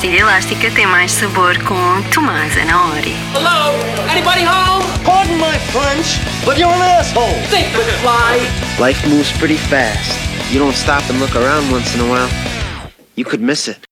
pastilha elástica tem mais sabor com Tomás Anaori. Hello? Anybody home? Pardon my French, but you're an asshole. Think with fly. Life moves pretty fast. You don't stop and look around once in a while, you could miss it.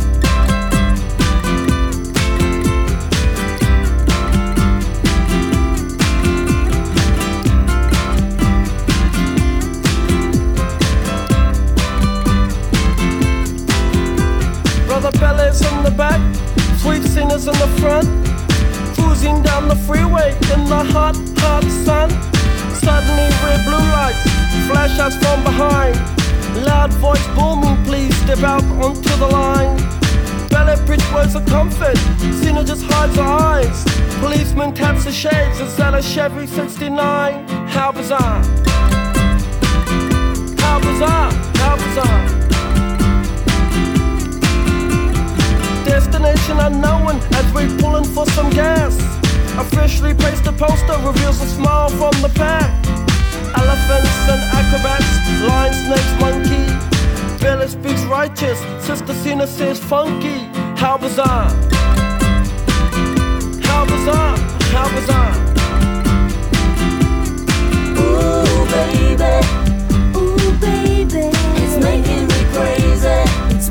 Brother Bellas in the back, sweet singers in the front, cruising down the freeway in the hot, hot sun. Suddenly red blue lights flash us from behind. Loud voice booming, please step out onto the line. Ballet bridge words of comfort, Cena just hides her eyes. Policeman taps the shades, is that a Chevy 69? How bizarre. How bizarre, how bizarre. Destination unknown as we pulling for some gas. A freshly pasted poster reveals a smile from the pack. Elephants and acrobats, lion, snakes, monkey. Billy speaks righteous, Sister Cena says funky. How bizarre. How bizarre, how bizarre.